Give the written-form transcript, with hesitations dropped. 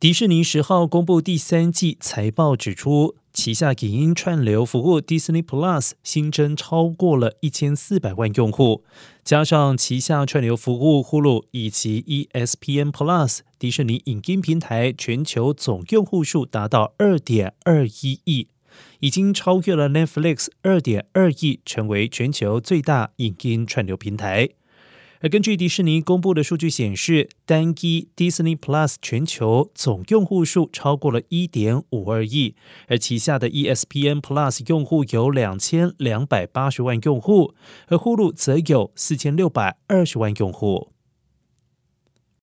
迪士尼10号公布第3季财报，指出旗下影音串流服务 Disney Plus 新增超过了1400万用户，加上旗下串流服务 Hulu 以及 ESPN Plus， 迪士尼影音平台全球总用户数达到 2.21 亿，已经超越了 Netflix 2.2 亿，成为全球最大影音串流平台。而根据迪士尼公布的数据显示，单一 Disney Plus 全球总用户数超过了 1.52 亿，而旗下的 ESPN Plus 用户有2280万用户，而 Hulu 则有4620万用户。